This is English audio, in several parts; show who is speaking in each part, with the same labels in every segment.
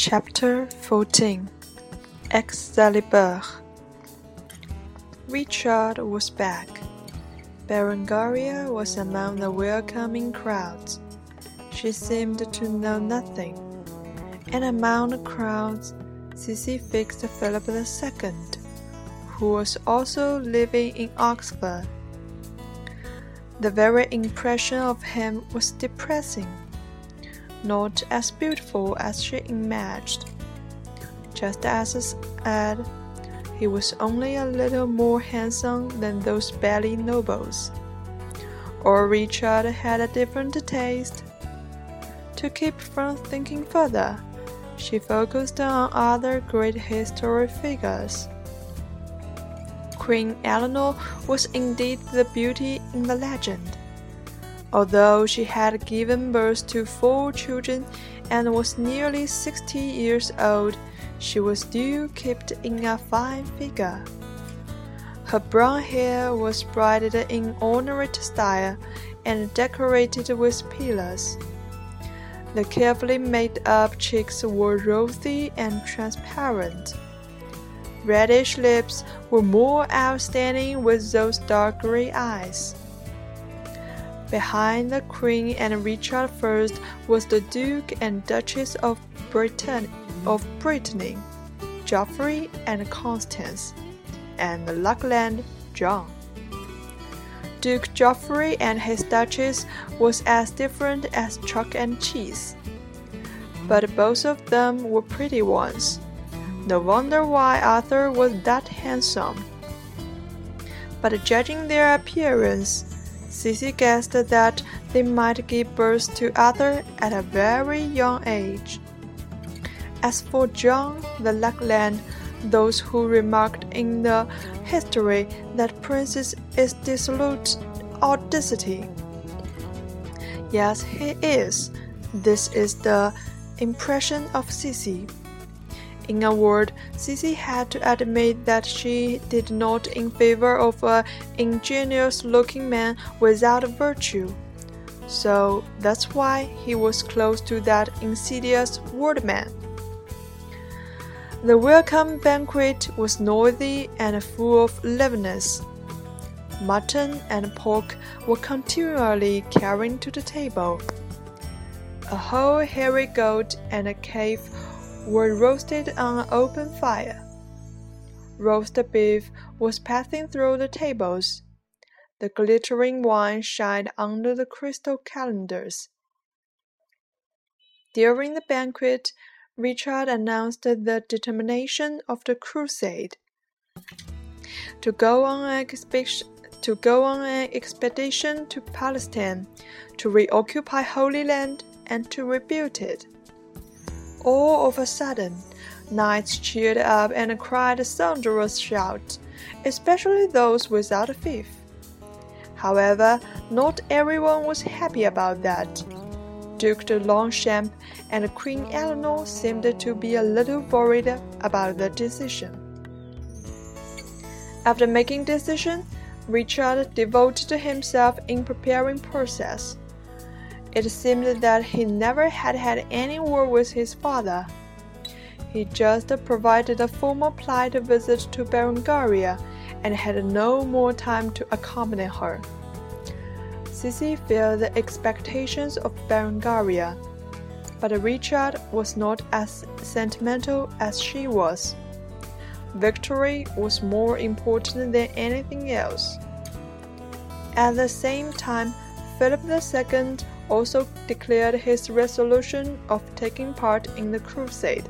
Speaker 1: Chapter 14 Excalibur. Richard was back. Berengaria was among the welcoming crowds. She seemed to know nothing. And among the crowds, Sissy fixed Philip II, who was also living in Oxford. The very impression of him was depressing. Not as beautiful as she imagined. Just as Ed, he was only a little more handsome than those belly nobles. Or Richard had a different taste. To keep from thinking further, she focused on other great historic figures. Queen Eleanor was indeed the beauty in the legend. Although she had given birth to 4 children and was nearly 60 years old, she was still kept in a fine figure. Her brown hair was braided in ornate style and decorated with pillars. The carefully made-up cheeks were rosy and transparent. Reddish lips were more outstanding with those dark gray eyes. Behind the Queen and Richard I was the Duke and Duchess of Brittany, Geoffrey and Constance, and Lackland John. Duke Geoffrey and his Duchess was as different as chalk and cheese. But both of them were pretty ones. No wonder why Arthur was that handsome. But judging their appearance, Sissy guessed that they might give birth to Arthur at a very young age. As for John the Lackland, those who remarked in the history that Princess is dissolute audacity. Yes, he is. This is the impression of Sissy. In a word, Sissy had to admit that she did not in favor of an ingenious-looking man without virtue. So that's why he was close to that insidious wordman. The welcome banquet was noisy and full of liveliness. Mutton and pork were continually carried to the table. A whole hairy goat and a calf were roasted on an open fire. Roast beef was passing through the tables. The glittering wine shined under the crystal calendars. During the banquet, Richard announced the determination of the crusade to go on an expedition to Palestine, to reoccupy Holy Land, and to rebuild it. All of a sudden, knights cheered up and cried thunderous shouts, especially those without a fief. However, not everyone was happy about that. Duke de Longchamp and Queen Eleanor seemed to be a little worried about the decision. After making decision, Richard devoted himself in preparing process. It seemed that he never had any word with his father. He just provided a formal polite visit to Berengaria and had no more time to accompany her. Sissy felt the expectations of Berengaria, but Richard was not as sentimental as she was. Victory was more important than anything else. At the same time, Philip II also declared his resolution of taking part in the crusade.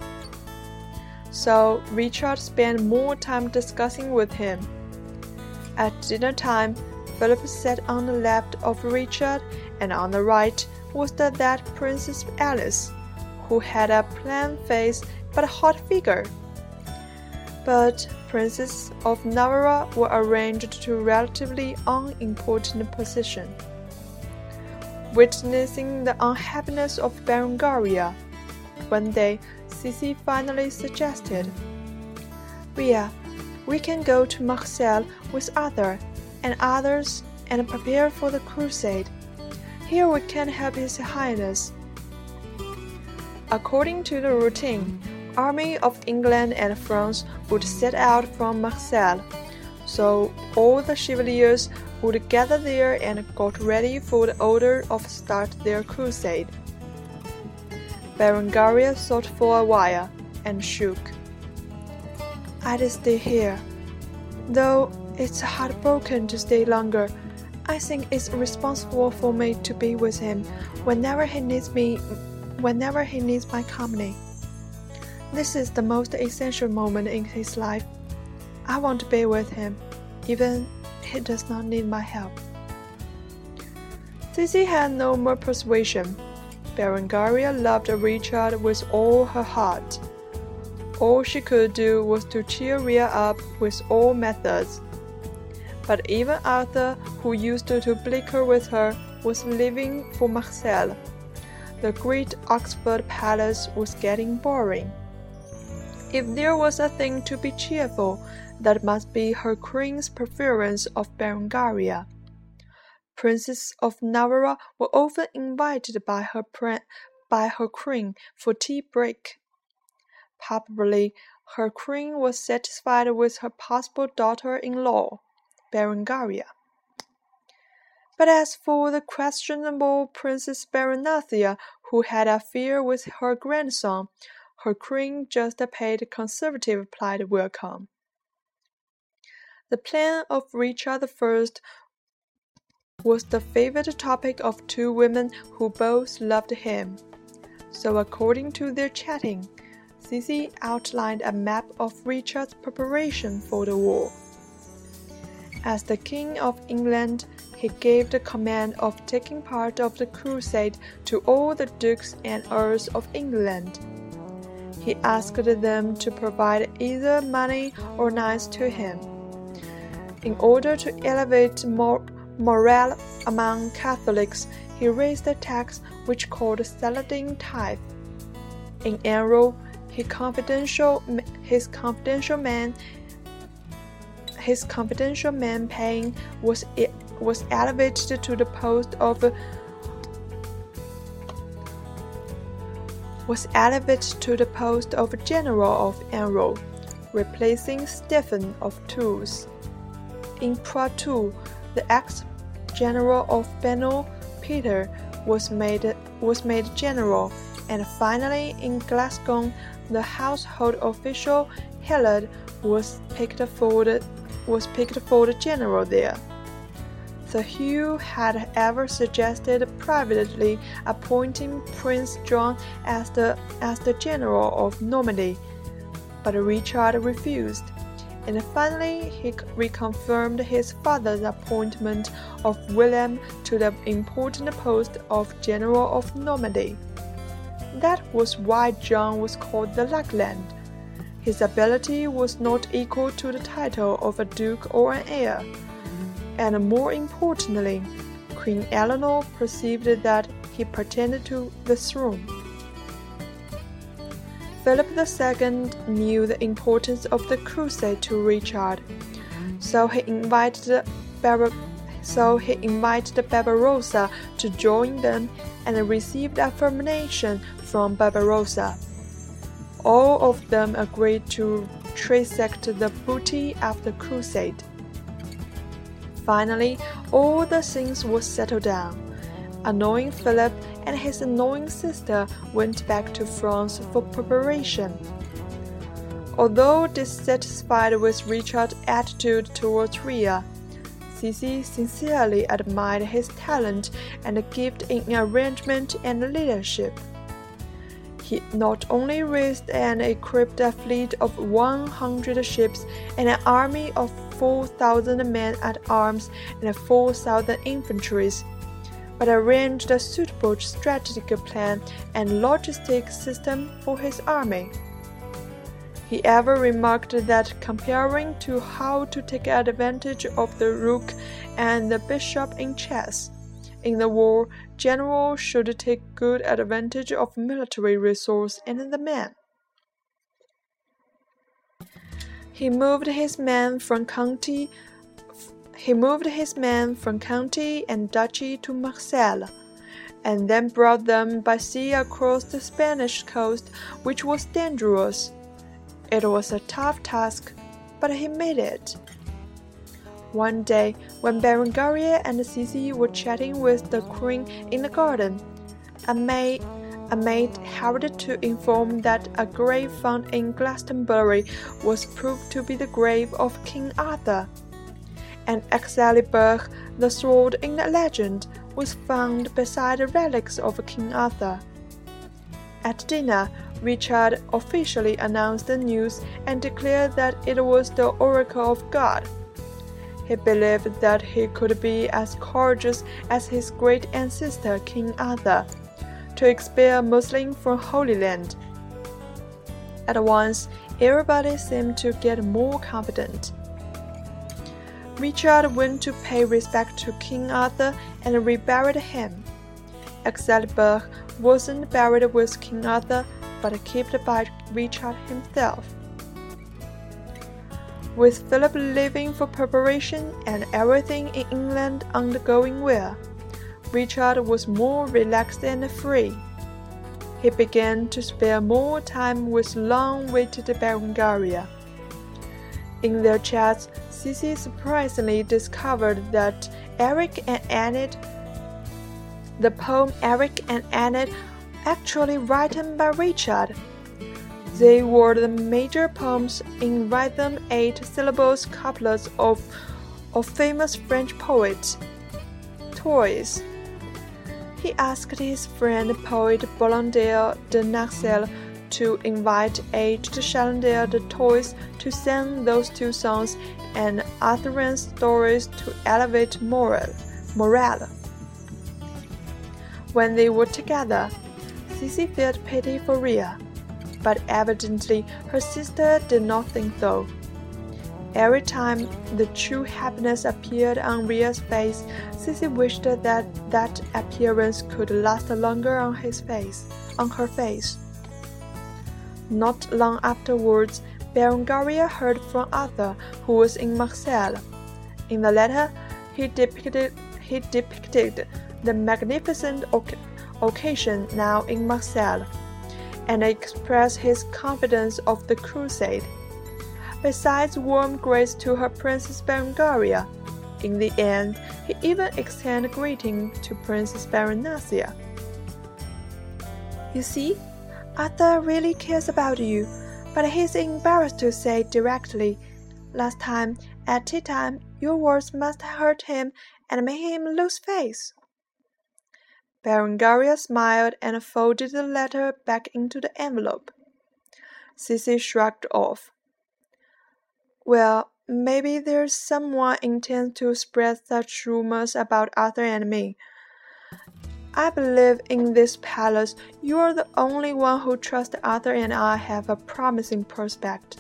Speaker 1: So Richard spent more time discussing with him. At dinner time, Philip sat on the left of Richard, and on the right was that Princess Alice, who had a plain face but a hot figure. But Princes of Navarre were arranged to relatively unimportant position. Witnessing the unhappiness of Berengaria, one day Sissy finally suggested, "Ria, we can go to Marseille with Arthur and others and prepare for the crusade. Here we can help His Highness." According to the routine, Army of England and France would set out from Marseille, so all the chevaliers would gather there and got ready for the order of start their crusade. Berengaria thought for a while and shook. "I'd stay here, though it's heartbroken to stay longer. I think it's responsible for me to be with him whenever he needs my company. This is the most essential moment in his life. I want to be with him, even if he does not need my help." Sissy had no more persuasion. Berengaria loved Richard with all her heart. All she could do was to cheer Ria up with all methods. But even Arthur, who used to bicker with her, was leaving for Marseille. The great Oxford Palace was getting boring. If there was a thing to be cheerful, that must be her queen's preference of Berengaria. Princes of Navarre were often invited by her queen for tea break. Probably her queen was satisfied with her possible daughter-in-law, Berengaria. But as for the questionable Princess Berenathia, who had an affair with her grandson, her queen just paid conservative polite welcome. The plan of Richard I was the favorite topic of two women who both loved him. So according to their chatting, Sissy outlined a map of Richard's preparation for the war. As the King of England, he gave the command of taking part of the crusade to all the dukes and earls of England. He asked them to provide either money or knights to him. In order to elevate morale among Catholics, he raised a tax which called Saladin tithe. In Enro, his confidential man paying was elevated to the post of General of Enro, replacing Stephen of Tours. In Poitou, the ex-general of Benoît, Peter, was made general, and finally in Glasgow, the household official Hillard was picked for the general there. Sir Hugh had ever suggested privately appointing Prince John as the general of Normandy, but Richard refused, and finally he reconfirmed his father's appointment of William to the important post of general of Normandy. That was why John was called the Lackland. His ability was not equal to the title of a duke or an heir, and more importantly, Queen Eleanor perceived that he pretended to the throne. Philip II knew the importance of the crusade to Richard, so he invited Barbarossa to join them and received affirmation from Barbarossa. All of them agreed to transact the booty after the crusade. Finally, all the things were settled down. Annoying Philip and his annoying sister went back to France for preparation. Although dissatisfied with Richard's attitude towards Ria, Sissy sincerely admired his talent and gift in arrangement and leadership. He not only raised and equipped a fleet of 100 ships and an army of 4,000 men at arms and 4,000 infantry, but arranged a suitable strategic plan and logistic system for his army. He ever remarked that comparing to how to take advantage of the rook and the bishop in chess, in the war, generals should take good advantage of military resource and the men. He moved his men from county and duchy to Marseille, and then brought them by sea across the Spanish coast, which was dangerous. It was a tough task, but he made it. One day, when Berengaria and Sissy were chatting with the queen in the garden, a maid hurried to inform that a grave found in Glastonbury was proved to be the grave of King Arthur, and Excalibur, the sword in the legend, was found beside the relics of King Arthur. At dinner, Richard officially announced the news and declared that it was the oracle of God. He believed that he could be as courageous as his great ancestor King Arthur, to expel Muslims from Holy Land. At once, everybody seemed to get more confident. Richard went to pay respect to King Arthur and reburied him. Excalibur wasn't buried with King Arthur, but kept by Richard himself. With Philip leaving for preparation and everything in England undergoing well, Richard was more relaxed and free. He began to spare more time with long-awaited Berengaria. In their chats, Sissy surprisingly discovered that the poem Eric and Enid, actually written by Richard. They were the major poems in rhythm 8-syllable couplets of famous French poet Thouars. He asked his friend poet Blondel de Naxel to invite aged Challenger de Thouars to sing those two songs and Arthurian stories to elevate morale. When they were together, Sissy felt pity for Rhea, but evidently her sister did not think so. Every time the true happiness appeared on Rhea's face, Sissy wished that appearance could last longer on her face. Not long afterwards, Berengaria heard from Arthur, who was in Marseille. In the letter, he depicted the magnificent occasion now in Marseille, and expressed his confidence of the crusade. Besides warm greets to her Princess Berengaria, in the end, he even extended greeting to Princess Berenacia. You see, Arthur really cares about you, but he's embarrassed to say directly. Last time, at tea time, your words must have hurt him and made him lose face. Berengaria smiled and folded the letter back into the envelope. Sissy shrugged off. Well, maybe there's someone intends to spread such rumors about Arthur and me. I believe in this palace you are the only one who trusts Arthur and I have a promising prospect.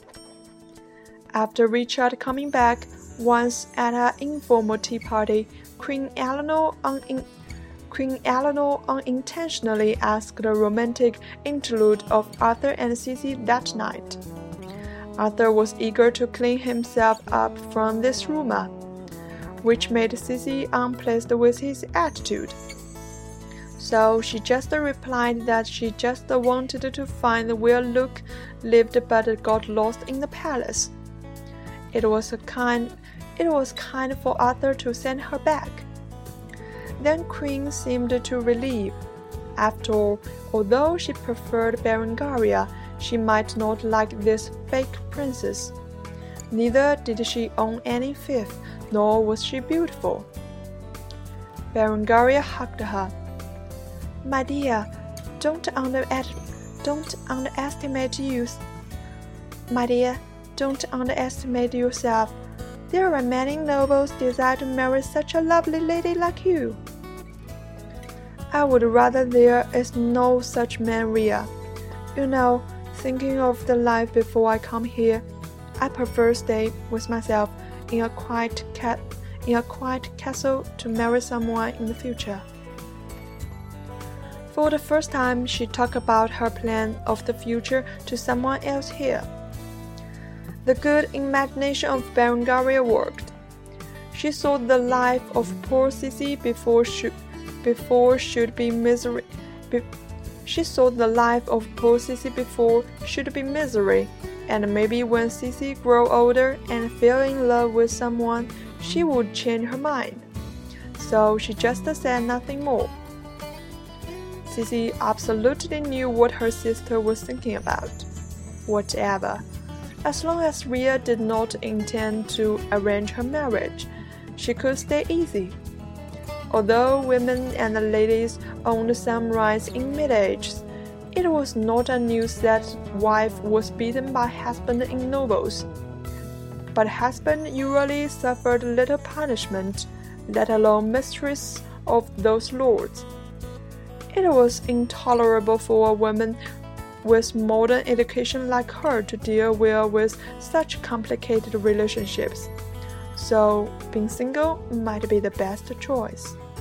Speaker 1: After Richard coming back, once at an informal tea party, Queen Eleanor unintentionally asked a romantic interlude of Arthur and Sissy that night. Arthur was eager to clean himself up from this rumor, which made Sissy unpleased with his attitude. So she just replied that she just wanted to find where Luke lived but got lost in the palace. It was kind for Arthur to send her back. Then Queen seemed to relieve. After all, although she preferred Berengaria, she might not like this fake princess. Neither did she own any fief, nor was she beautiful. Berengaria hugged her. My dear, don't underestimate youth. My dear, don't underestimate yourself. There are many nobles desire to marry such a lovely lady like you. I would rather there is no such man, Rhea. You know, thinking of the life before I come here, I prefer stay with myself in a quiet castle to marry someone in the future. For the first time, she talked about her plan of the future to someone else here. The good imagination of Berengaria worked. She saw the life of poor Sissy before should be misery. She thought the life of poor Sissy before should be misery, and maybe when Sissy grew older and fell in love with someone, she would change her mind. So she just said nothing more. Sissy absolutely knew what her sister was thinking about. Whatever. As long as Ria did not intend to arrange her marriage, she could stay easy. Although women and ladies owned some rights in mid-age, it was not a news that wife was beaten by husband in novels. But husband usually suffered little punishment, let alone mistress of those lords. It was intolerable for a woman with modern education like her to deal well with such complicated relationships. So being single might be the best choice.